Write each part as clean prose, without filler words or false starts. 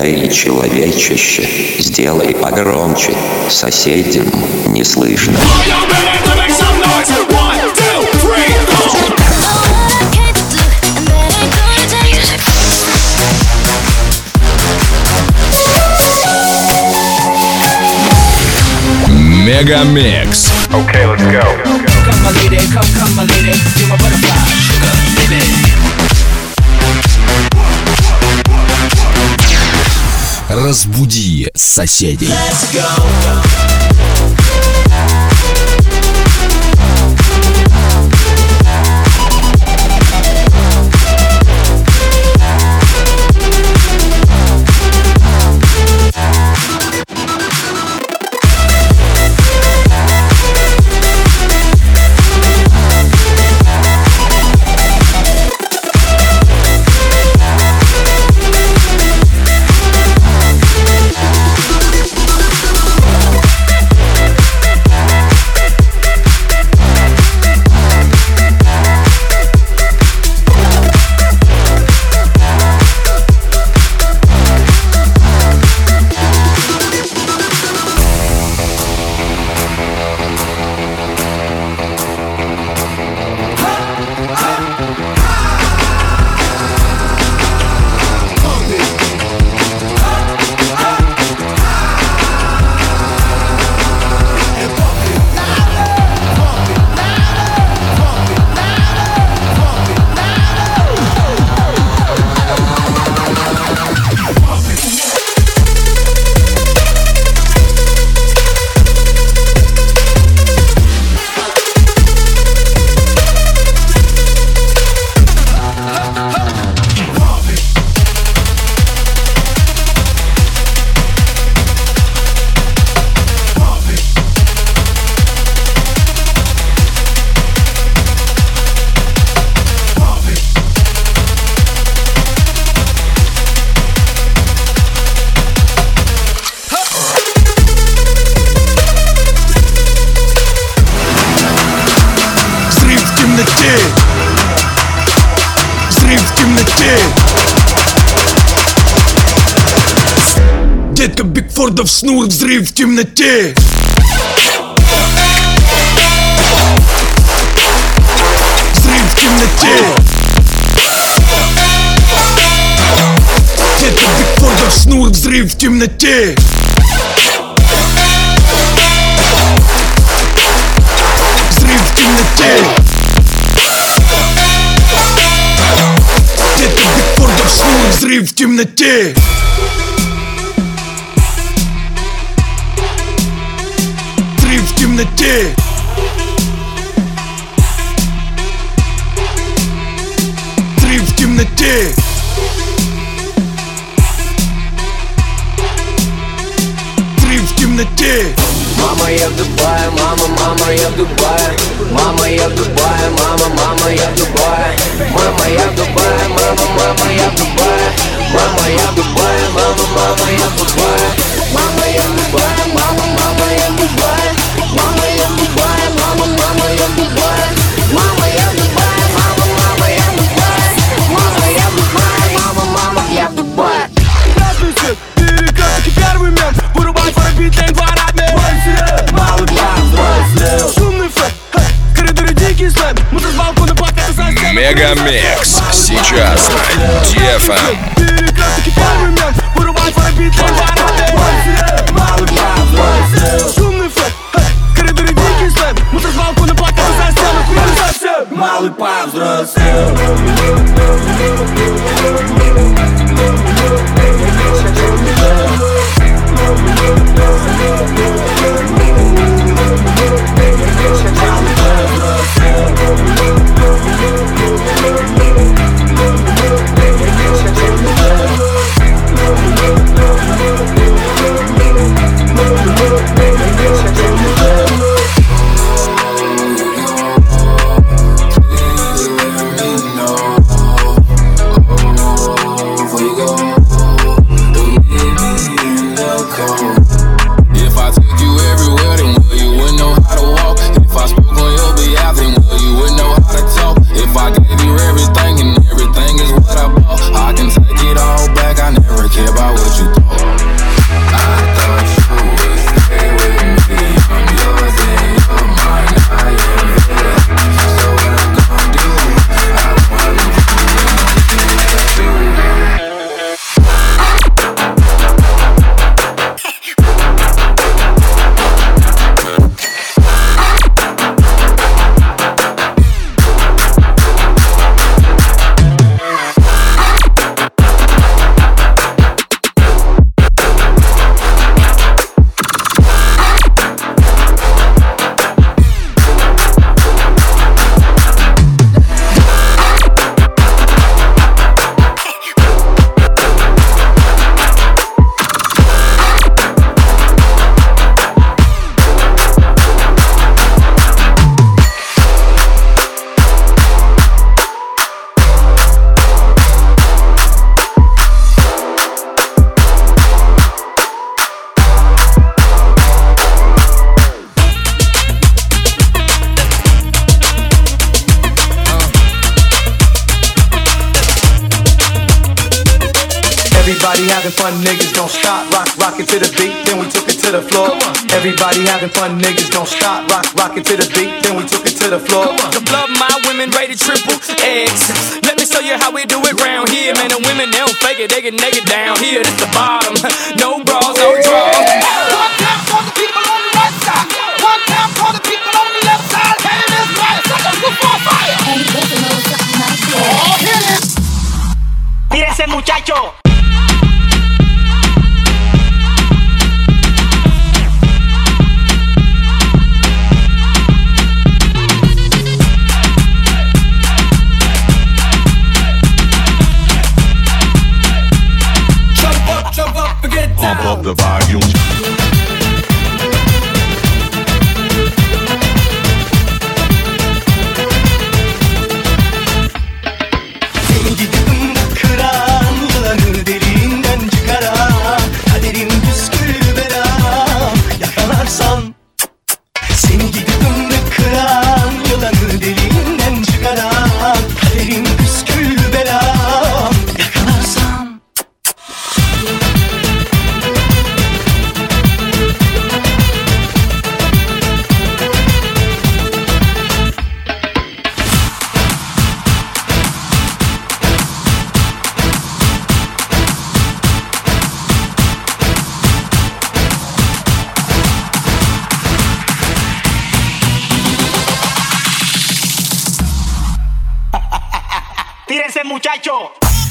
Эй, человечище, сделай погромче, соседям не слышно. Мегамикс. Okay, let's go. Come my lady, come my lady, you're my butterfly, sugar, baby. Разбуди соседей. Let's go. Взрыв в темноте. Детка Бигфордов снур, взрыв в темноте. Взрыв в темноте. Детка Бигфордов снур, взрыв в темноте. Взрыв в темноте. Детка Бигфордов снур, взрыв в темноте. Взрыв в темноте. Взрыв в темноте. Взрыв в темноте. Мама, я в Дубае, мама, я в Дубае. Мама, я в Дубае, мама, я в Дубае. Мама, я в Дубае, мама, я в Дубае. Мама, я в Дубае, мама, я в Дубае. Мама, я в Дубае, мама, я в Дубае. Мама, я в Дубае, мама, я в Дубае. Мама, я в Дубае, мама, я в Дубае. Мама, я в Дубае, мама, я в Дубае. Красный свет, перекрестки, первый мент. Вырубай пробить лень дворами. Малый план, шумный флэт. В коридоре дикий слэм. Мусор с балкона плакаты за стену. Мегамикс. Сейчас на DFM. Перекрестки, первый мент. Вырубай пробить лень дворами. Малый план, шумный флэт. В коридоре дикий слэм. Мусор с балкона плакаты за стену. Хуйня совсем. Малый повзрослел. having fun, niggas don't stop. Rock it to the beat, then we took it to the floor. Everybody having fun, niggas don't stop. Rock it to the beat, then we took it to the floor. The blood, my women rated triple X. Let me show you how we do it round here. Man, the women, they don't fake it, they get naked down here. This the bottom, no bras, no draws. One time for the people on the right side. One time for the people on the left side. Hand is right, suckers before fire. Oh, hit it. Tírese, muchacho. Pump up the volume. Seni gidip kıran yılanı derinden çıkaran kaderin püskül bela yakalarsan. Seni gidip kıran yılanı derinden çıkaran kaderin püskül bela yakalarsan. Tírense, muchacho.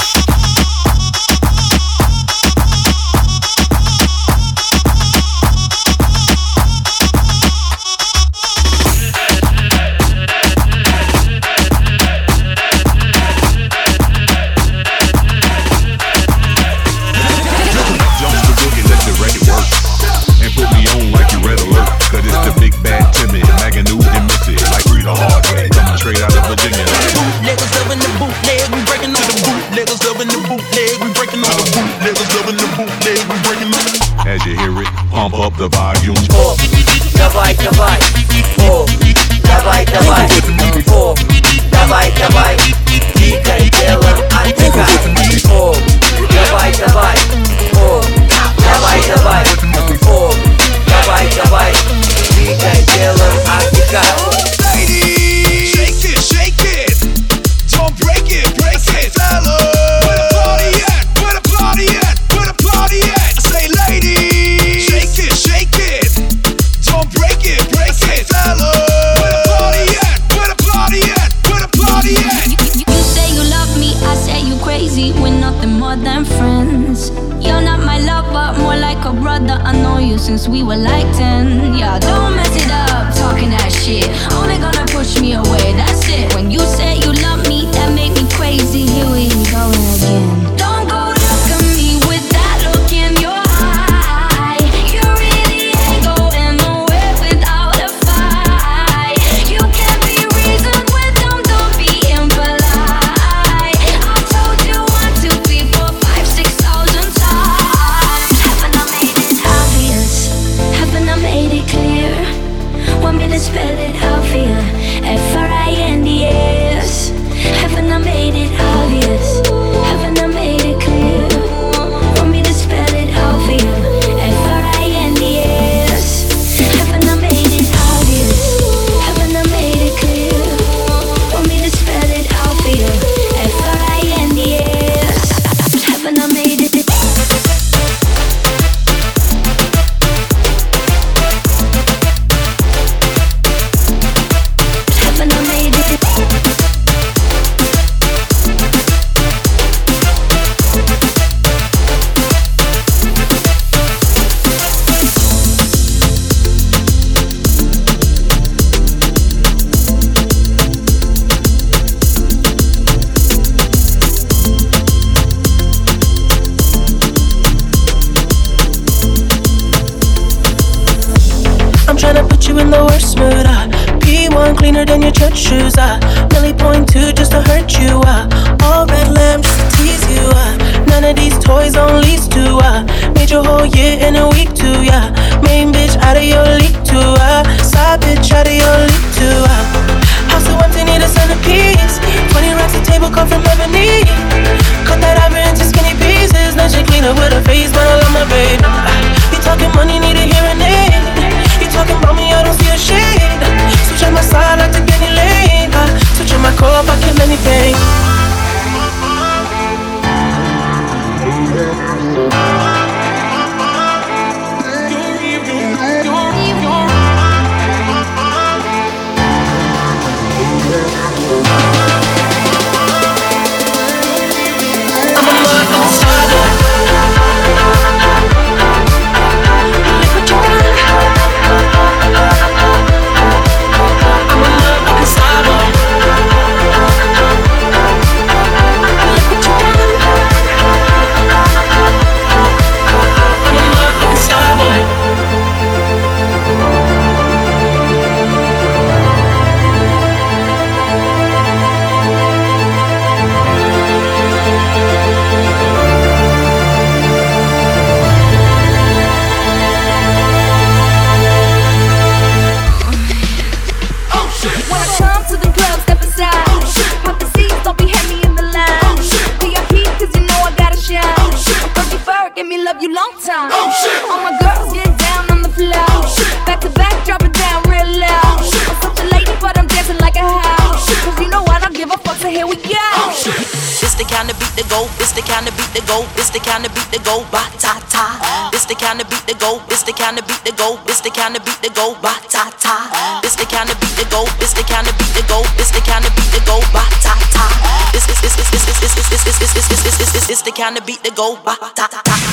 As you hear it, pump up the volume. Давай, давай, о, давай, давай, о, давай, давай, двигай телом, отдыхай, о, давай, давай, о, давай, давай, о, давай, давай, двигай телом, отдыхай. Shake it, shake it. Don't break it, break it. Fella, where the party at? Where the party at? Where the party at? I say, ladies, shake it, shake it. Don't break it, break it. Fella, where the party at? Where the party at? Where the party at? You say you love me, I say you crazy. We're nothing more than friends. You're not my lover, more like a brother. I know you since we were like 10. Yeah, don't mess it up, talking that shit. Only gonna push me away, that's it. When you say you love me, that make me crazy. Here we go again. Don't go look at me with that look in your eye. You really ain't going nowhere without a fight. You can't be reasoned with them, don't be impolite. I've told you 1, 2, 3, 4, 5, 6,000 times. Haven't I made it obvious? Haven't I made it clear? Want me to spell it out for you? F-R-I-N-D-S. Haven't I made it obvious? Haven't I made it clear? Want me to spell it out for you? F-R-I-N-D-S. Haven't I made it obvious? Haven't I made it clear? Want me to spell it out for you? F-R-I-N-D-S. Haven't I made it? Haven't I made it? I'm tryna put you in the worst mood, P1 cleaner than your church shoes, Millie point 2 just to hurt you, all red lamb just to tease you, none of these toys on lease to, made your whole year in a week too, main bitch out of your league too, side bitch out of your league too, house so empty need a centerpiece, 20 racks a table come from Ebony, cut that ivory into skinny pieces, now she clean her with a face, but I love my baby. You talking money, need a hearing aid. You talking about me, I don't see a shade. Switch on my side, I take any lane. Switch on my core, I kill anything. It's the kind of beat that go ba ta ta ta.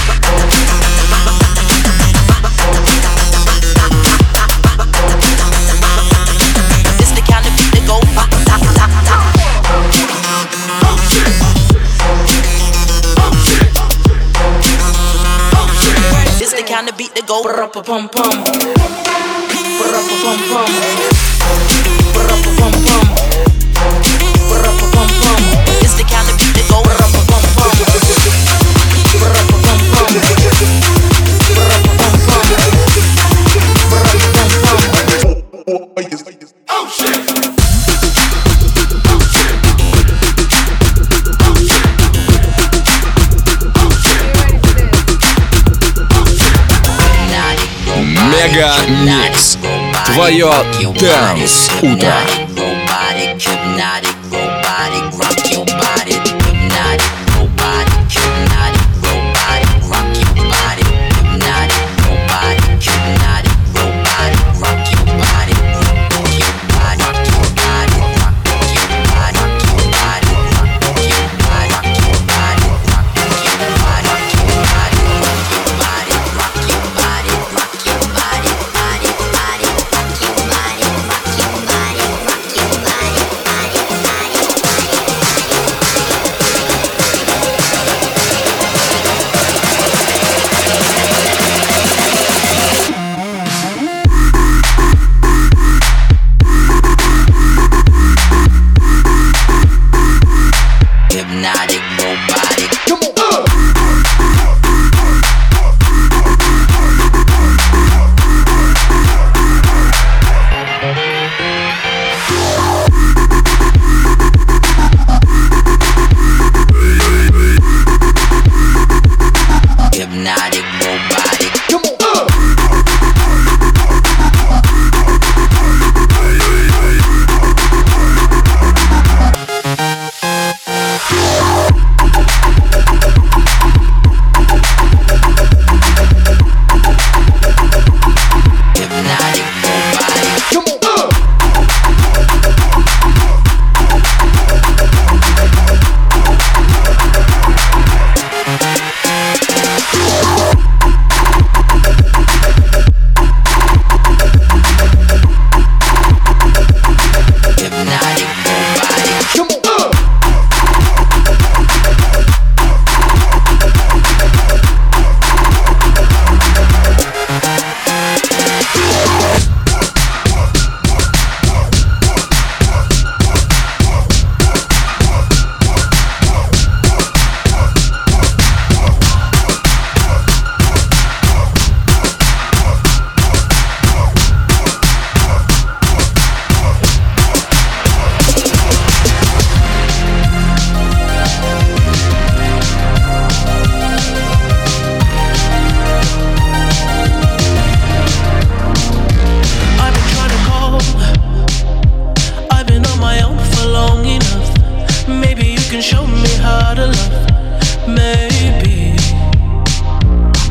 It's the kind of beat that go ba ta ta ta. Oh shit! Oh shit! Oh shit! It's the kind of beat that go ba pum pum pum ba pum pum ba pum pum. It's the kind of beat that go rum-pum-pum-pum. Oh shit! Мега Микс. Твое Dance утро.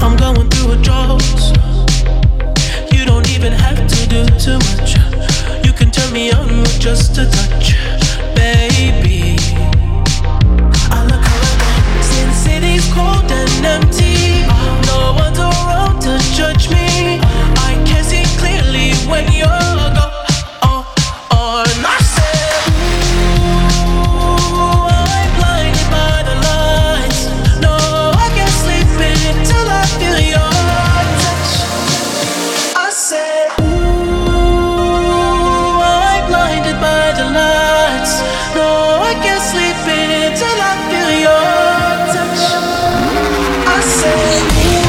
I'm going through a drought. You don't even have to do too much. You can turn me on with just a touch, baby. I look around, since city's cold and empty, no one's around to judge me. I can see clearly when you're gone. And I said, ooh, I'm blinded by the lights. No, I can't sleep until I feel your touch. I said, ooh, I'm blinded by the lights. No, I can't sleep until I feel your touch. I said,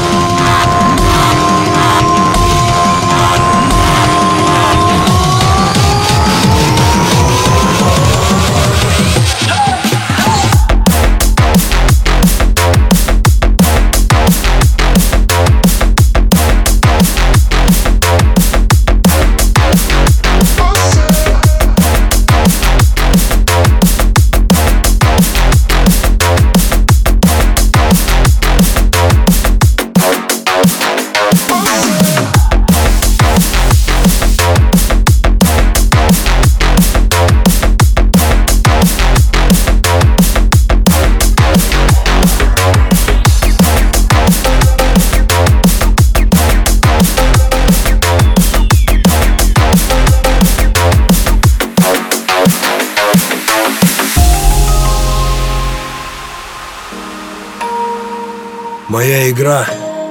моя игра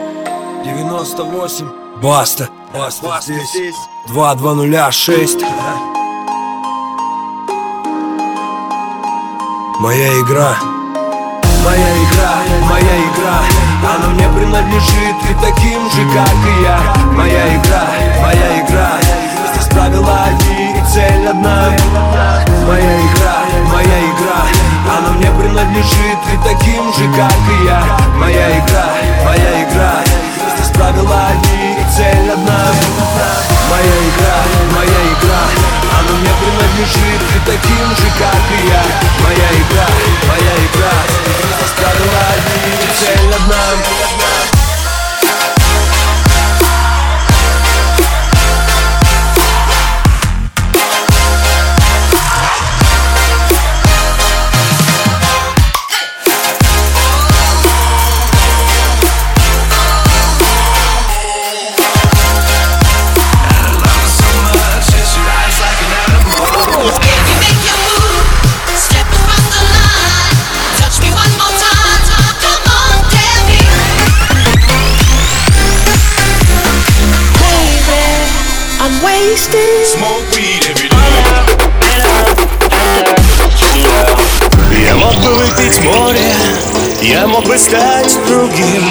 98. Баста. Баста здесь. 2-2-0-6. Моя игра. Моя игра, моя игра. Она мне принадлежит и таким же, как и я. Моя игра, моя игра. Здесь правила одни и цель одна. Моя игра, моя игра. Она мне принадлежит и таким же, как и я. Моя игра, моя игра. Здесь правила одни и цель одна. Моя игра, моя игра. Она мне принадлежит и таким же, как и я. Моя игра, моя игра. Здесь правила одни и цель одна. Smoke weed every day. Я мог бы выпить море, я мог бы стать другим.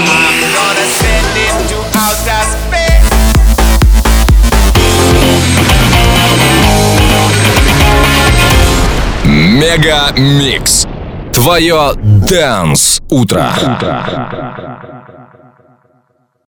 Мега Микс. Твое Dance утро.